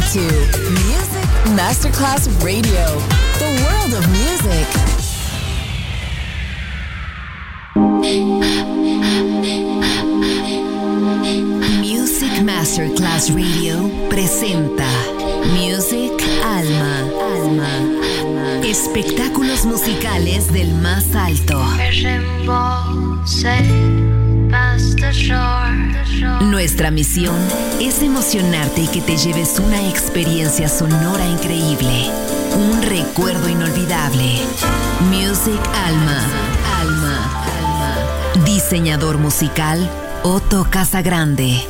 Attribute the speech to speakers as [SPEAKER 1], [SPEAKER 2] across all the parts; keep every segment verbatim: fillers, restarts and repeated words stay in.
[SPEAKER 1] to Music Masterclass Radio, the world of music. Music Masterclass Radio presenta Music Alma, Alma, espectáculos musicales del más alto. Nuestra misión es emocionarte y que te lleves una experiencia sonora increíble, un recuerdo inolvidable. Music Alma, Alma, Alma. Diseñador musical Otto Casagrande.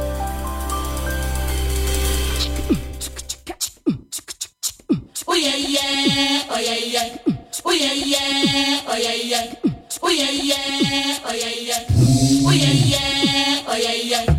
[SPEAKER 2] Oh yeah yeah, oh yeah yeah, oh yeah yeah, oh yeah yeah, oh yeah yeah, oh yeah yeah, oh yeah yeah, oh yeah yeah.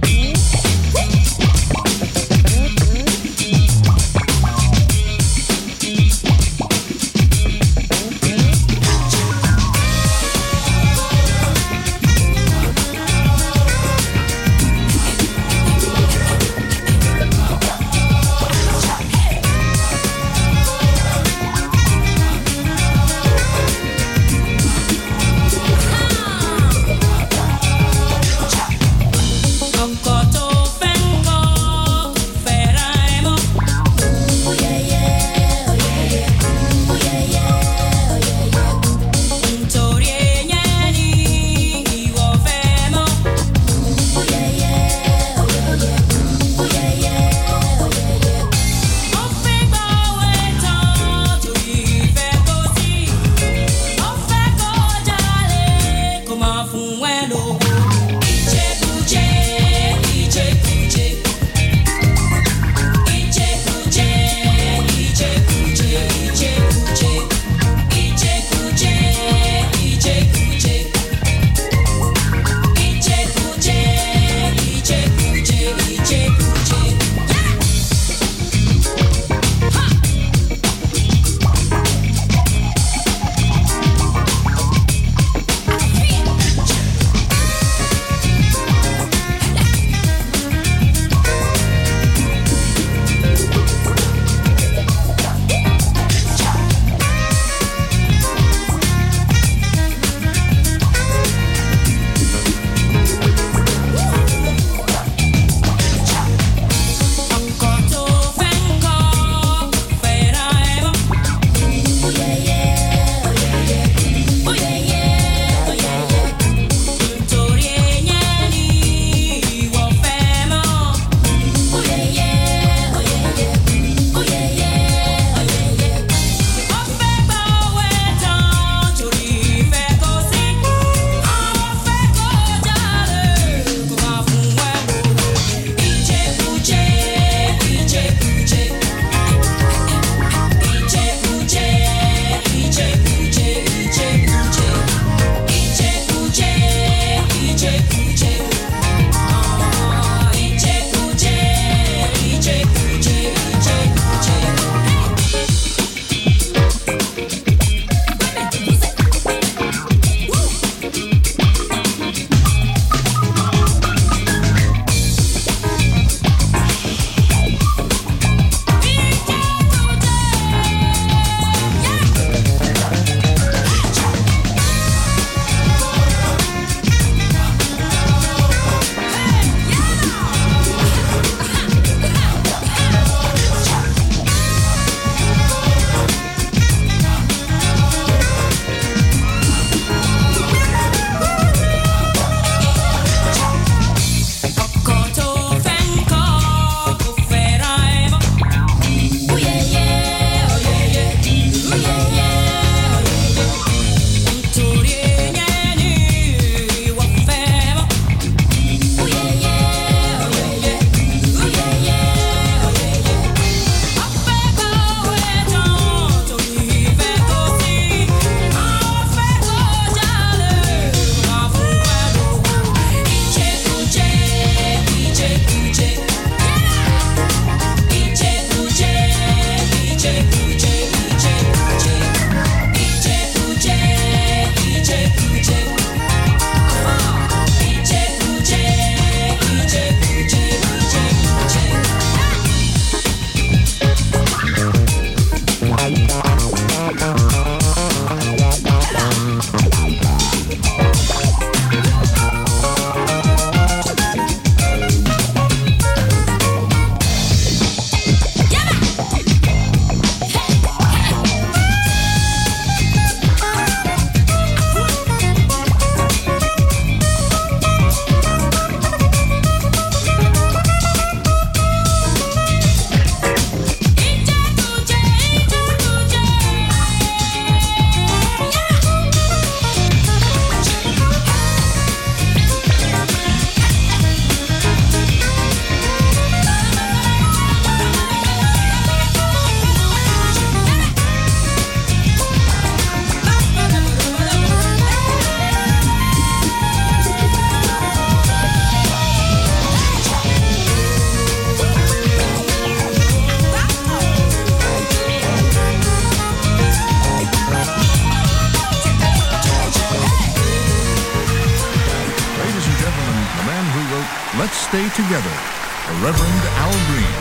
[SPEAKER 3] together, the Reverend Al Green.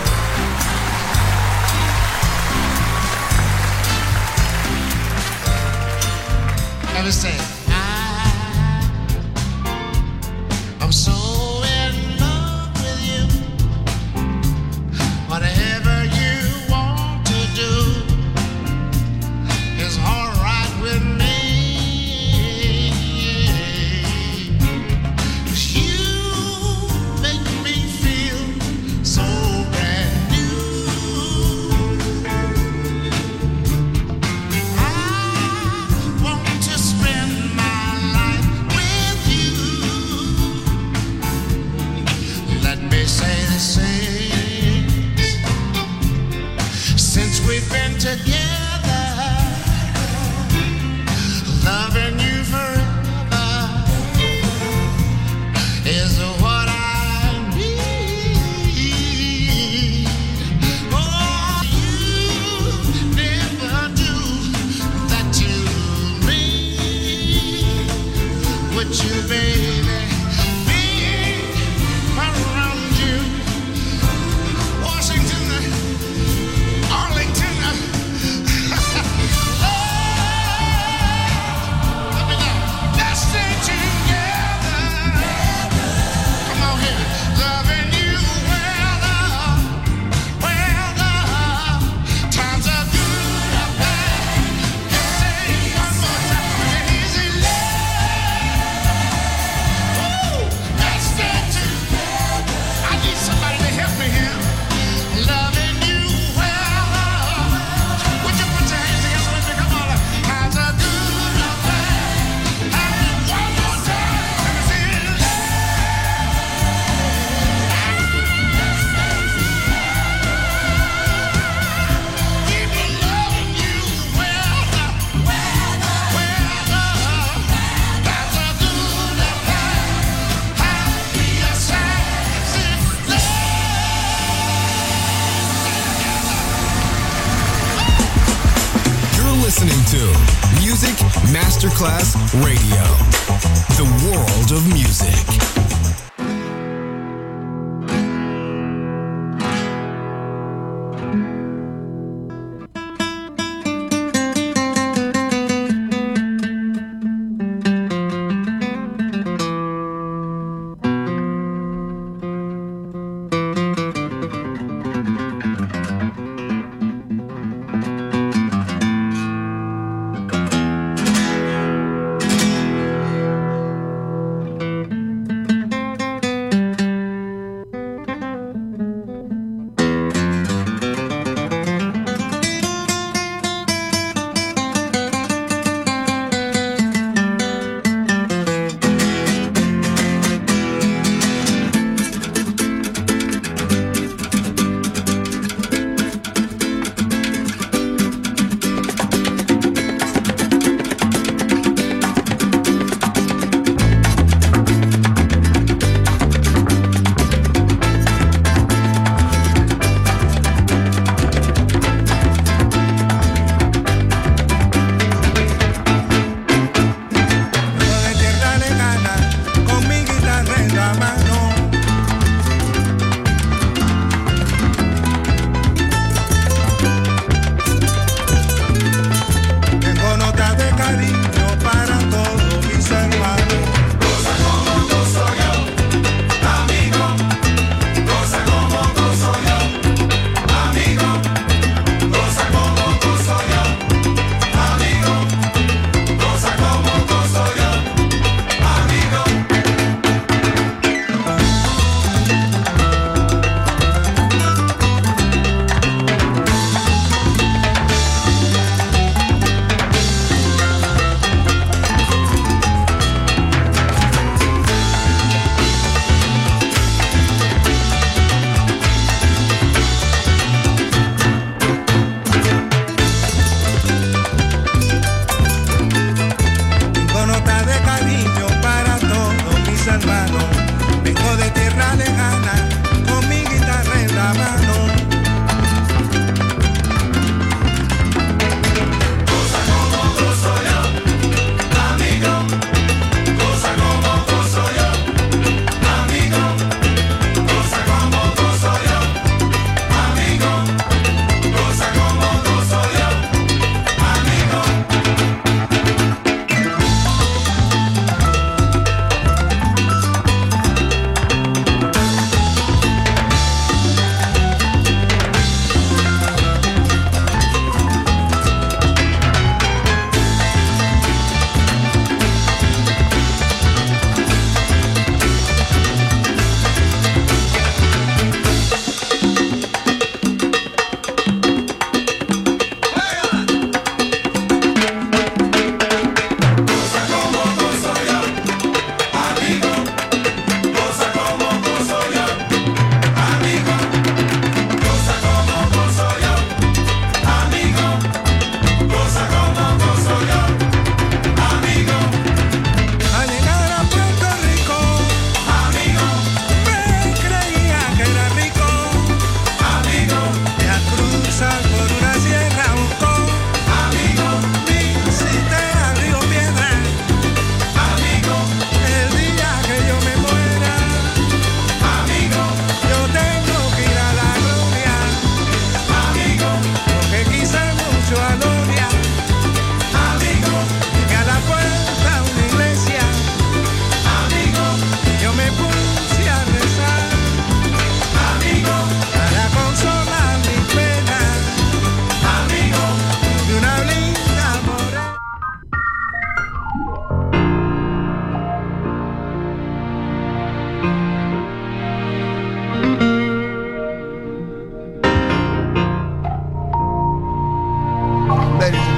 [SPEAKER 4] Ever say, I, I'm so in love with you. Whatever you want to do is all right with me. 'Cause you make me feel so brand new. I want to spend my life with you. Let me say the same. Since we've been together, loving you forever is what I need. Oh, you never do that to me. Would you, baby, be around you? Washington, Arlington, let me know. Let's stay together. Come on here, loving you weather, weather. Times are good or bad. Say one more time, easy love. Woo! Let's stay together. I need somebody to help me here. Loving you weather. Would you put your hands together with me? Come on. Times are good or bad. And one more time, let me see it. Keep loving you weather, weather, weather. Times are good or bad. Happy or sad, it's
[SPEAKER 5] You're listening to Music Masterclass Radio, the world of music.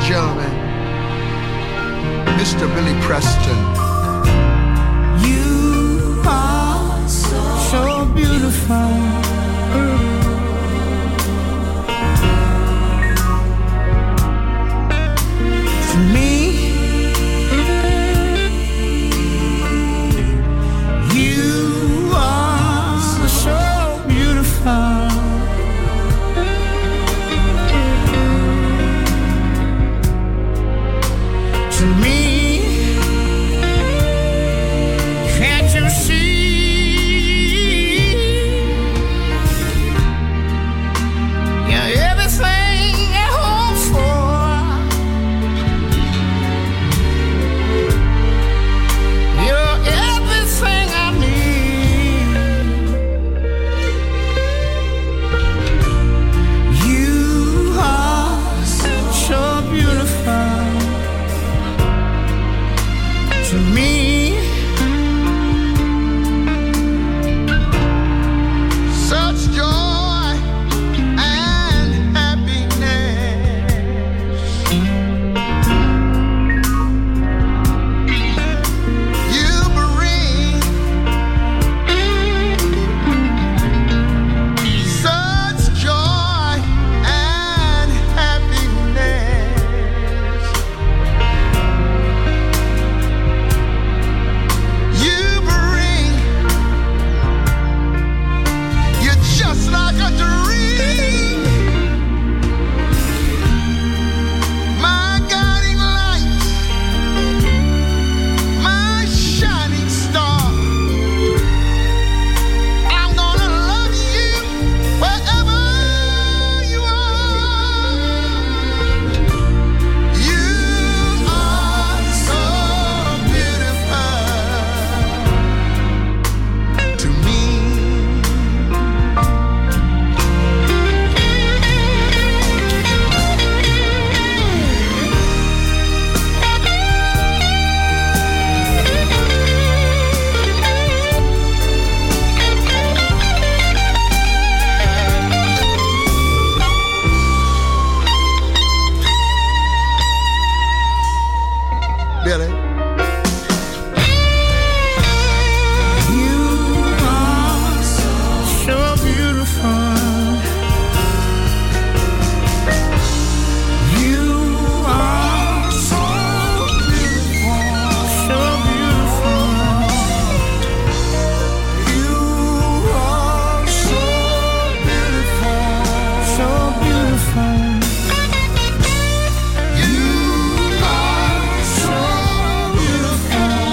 [SPEAKER 6] gentlemen, Mister Billy Preston.
[SPEAKER 7] You are so, so beautiful. To me, you are so beautiful. To me, can't you see? You're everything I hope for. You're everything I need. You are so beautiful. To me,
[SPEAKER 6] Such joy and happiness. You bring such joy and happiness. You bring, you're just like a dream. My guiding light, my shining star. I'm gonna love you wherever you are. You are so beautiful to me. Billy.
[SPEAKER 7] you are so beautiful. You are so beautiful, so beautiful. You are so beautiful, so beautiful. You are so beautiful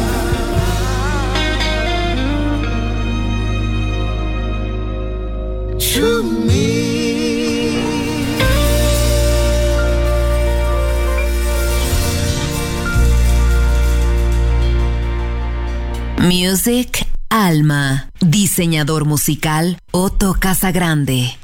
[SPEAKER 7] to me.
[SPEAKER 1] Music Alma. Diseñador musical Otto Casagrande.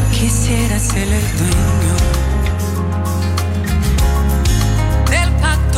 [SPEAKER 8] Quisiera ser el dueño del pacto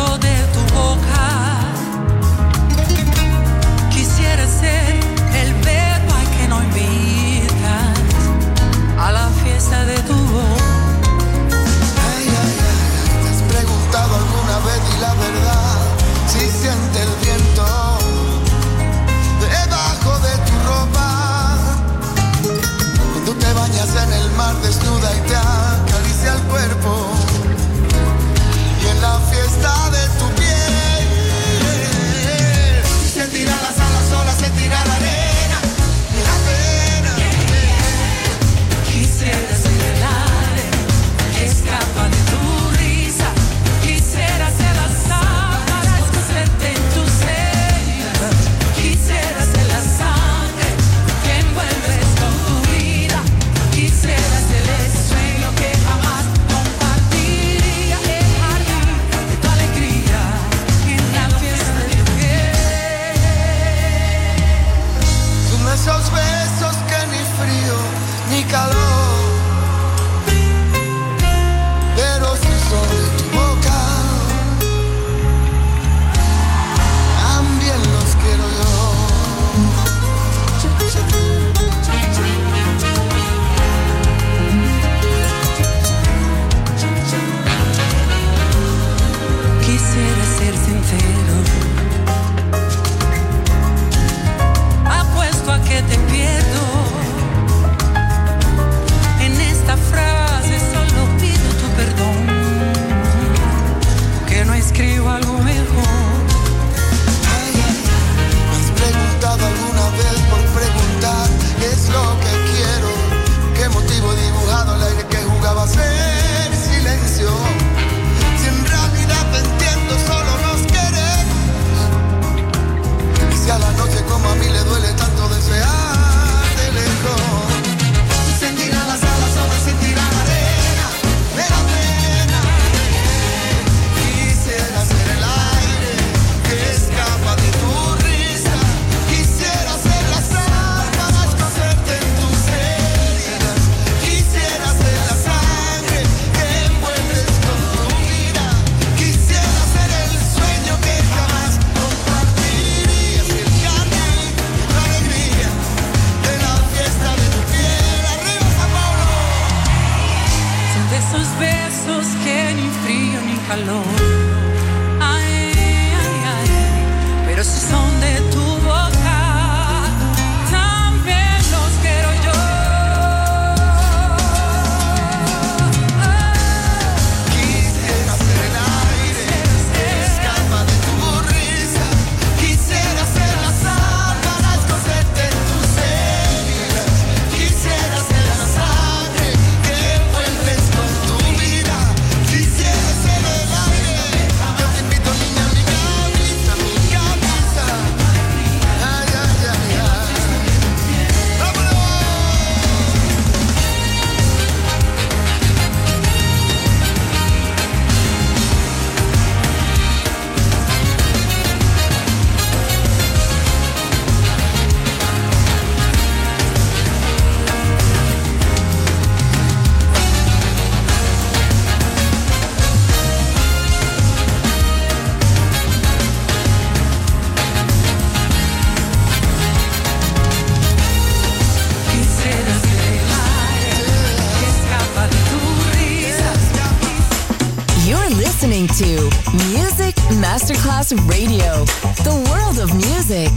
[SPEAKER 1] Masterclass Radio, the world of music.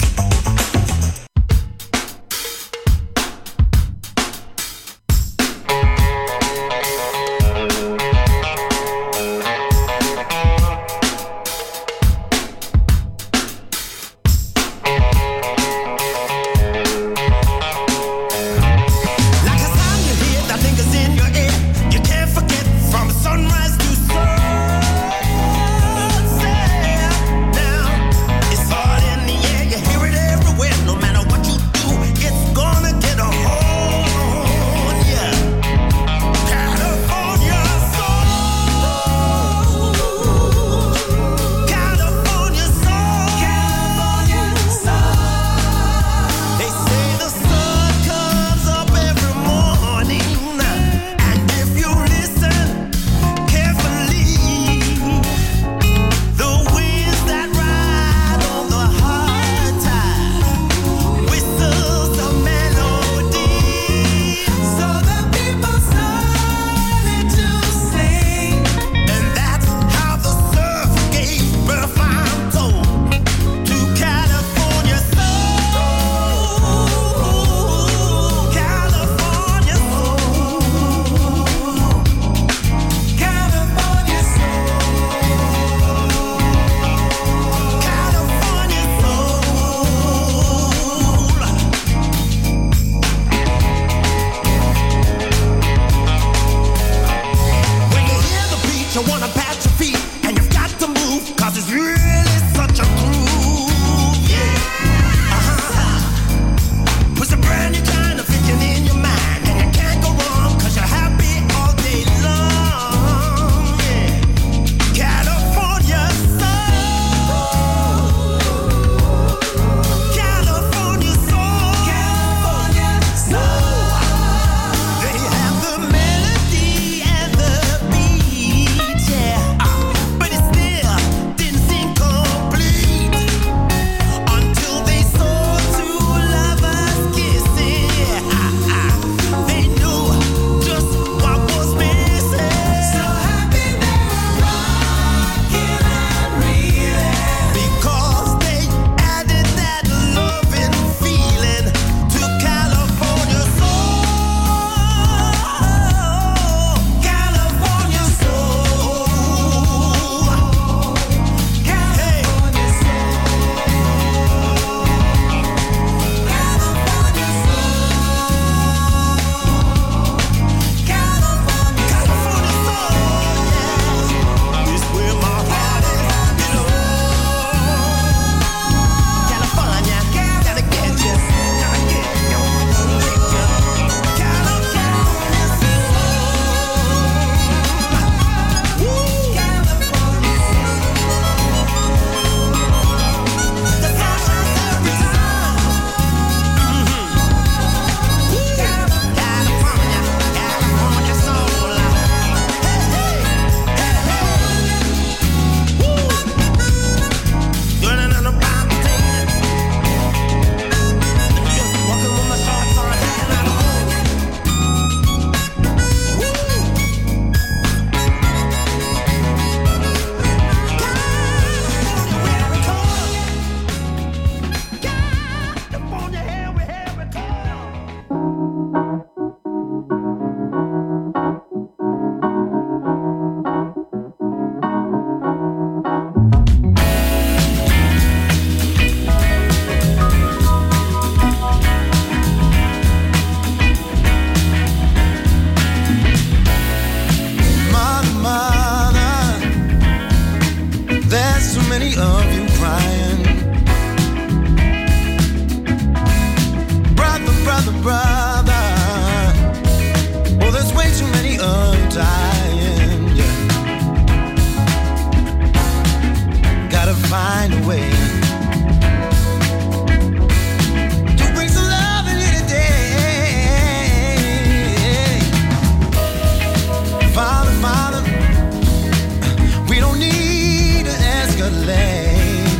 [SPEAKER 7] Father, we don't need to escalate.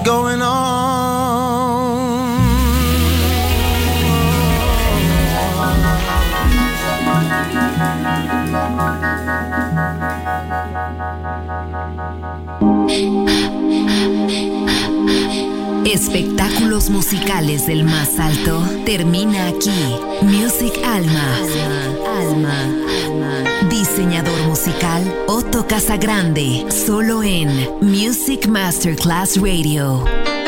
[SPEAKER 7] going on.
[SPEAKER 1] Espectáculos musicales del más alto termina aquí. Music Alma. Alma. Alma. Diseñador musical Otto Casagrande. Solo en Music Masterclass Radio.